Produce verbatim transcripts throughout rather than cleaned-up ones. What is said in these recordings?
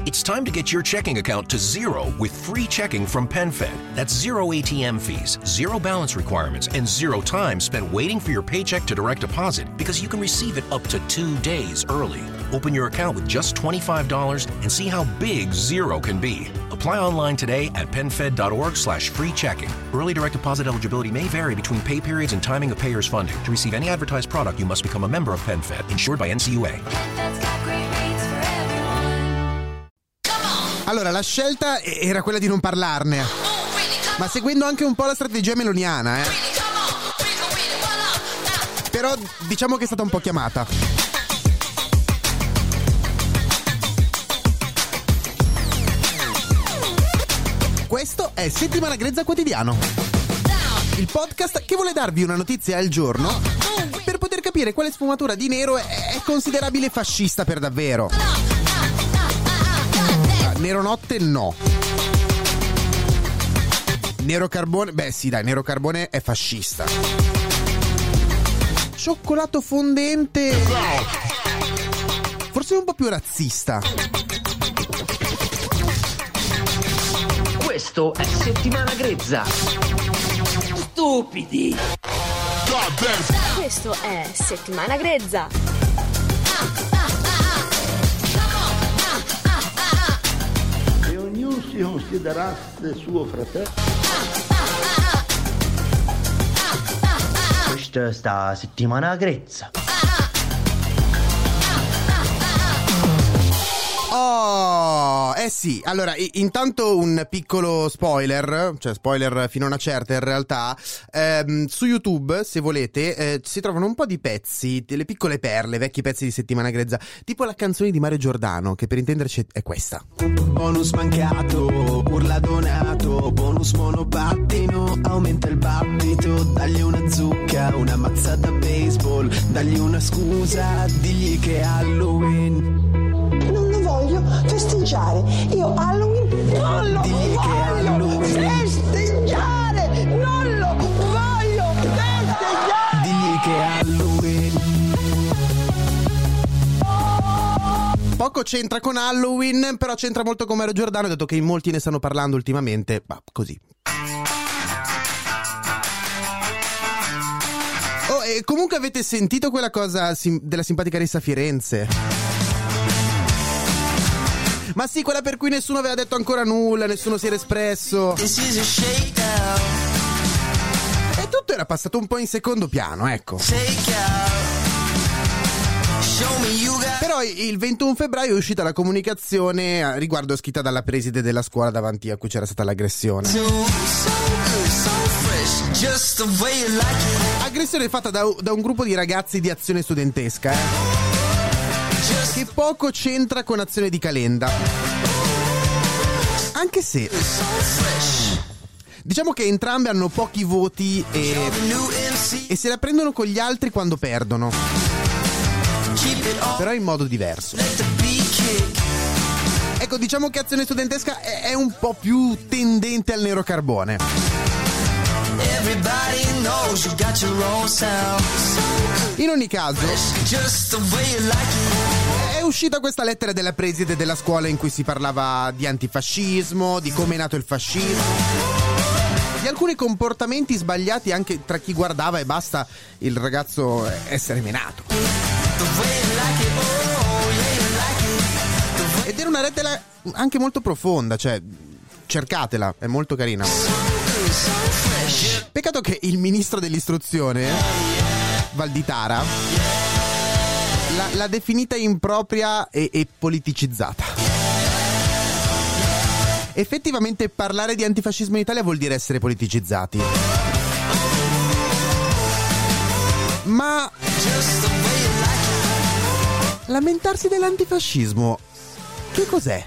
It's time to get your checking account to zero with free checking from PenFed. That's zero A T M fees, zero balance requirements, and zero time spent waiting for your paycheck to direct deposit because you can receive it up to two days early. Open your account with just twenty-five dollars and see how big zero can be. Apply online today at PenFed.org slash free checking. Early direct deposit eligibility may vary between pay periods and timing of payers' funding. To receive any advertised product, you must become a member of PenFed, insured by N C U A. Allora, la scelta era quella di non parlarne, ma seguendo anche un po' la strategia meloniana, eh. Però diciamo che è stata un po' chiamata. Questo è Settimana Grezza Quotidiano, il podcast che vuole darvi una notizia al giorno per poter capire quale sfumatura di nero è considerabile fascista per davvero. Nero notte no. Nero carbone, beh sì dai, nero carbone è fascista. Cioccolato fondente forse un po' più razzista. Questo è Settimana Grezza. Stupidi. Questo è Settimana Grezza. Si considerasse suo fratello. Questa sta Settimana Grezza. Oh, eh sì, allora i- intanto un piccolo spoiler, cioè spoiler fino a una certa in realtà, ehm, su YouTube se volete eh, si trovano un po' di pezzi, delle piccole perle, vecchi pezzi di Settimana Grezza, tipo la canzone di Mario Giordano, che per intenderci è questa. Bonus mancato, urla donato, bonus monopattino, aumenta il battito, dagli una zucca, una mazzata baseball, dagli una scusa, digli che è Halloween. Non lo voglio festeggiare. Io Halloween non lo Digli che voglio Halloween. festeggiare. Non lo voglio festeggiare. Digli che è Halloween. Poco c'entra con Halloween, però c'entra molto con Mario Giordano, dato che in molti ne stanno parlando ultimamente, ma così. Oh, e comunque avete sentito quella cosa sim- della simpatica Ressa Firenze? Ma sì, quella per cui nessuno aveva detto ancora nulla, nessuno si era espresso. E tutto era passato un po' in secondo piano, ecco. Però il ventuno febbraio è uscita la comunicazione a riguardo scritta dalla preside della scuola davanti a cui c'era stata l'aggressione. Aggressione fatta da, da un gruppo di ragazzi di Azione Studentesca, eh. Che poco c'entra con Azione di Calenda. Anche se diciamo che entrambe hanno pochi voti e, e se la prendono con gli altri quando perdono, però in modo diverso. Ecco, diciamo che Azione Studentesca è, è un po' più tendente al nero carbone. In ogni caso è uscita questa lettera della preside della scuola in cui si parlava di antifascismo, di come è nato il fascismo, di alcuni comportamenti sbagliati anche tra chi guardava e basta il ragazzo essere menato. Ed era una lettera anche molto profonda, cioè cercatela, è molto carina. Peccato che il ministro dell'istruzione, Valditara, l'ha, l'ha definita impropria e, e politicizzata. Effettivamente parlare di antifascismo in Italia vuol dire essere politicizzati. Ma lamentarsi dell'antifascismo, che cos'è?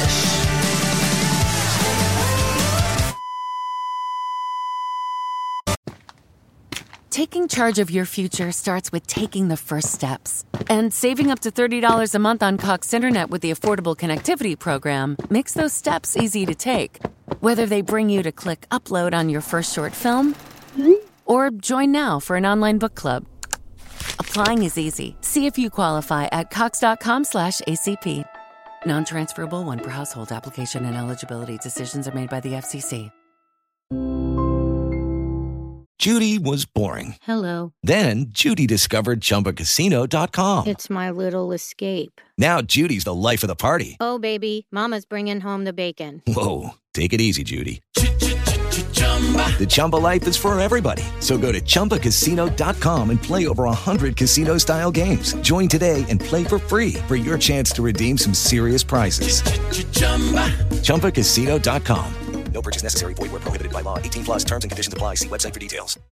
Taking charge of your future starts with taking the first steps. And saving up to thirty dollars a month on Cox Internet with the Affordable Connectivity Program makes those steps easy to take. Whether they bring you to click upload on your first short film or join now for an online book club. Applying is easy. See if you qualify at cox.com slash ACP. Non-transferable one per household. Application and eligibility decisions are made by the F C C. Judy was boring. Hello. Then Judy discovered Chumba Casino dot com. It's my little escape. Now Judy's the life of the party. Oh, baby, mama's bringing home the bacon. Whoa, take it easy, Judy. The Chumba life is for everybody. So go to Chumba Casino dot com and play over one hundred casino-style games. Join today and play for free for your chance to redeem some serious prizes. Chumba Casino dot com. No purchase necessary. Void where prohibited by law. eighteen plus terms and conditions apply. See website for details.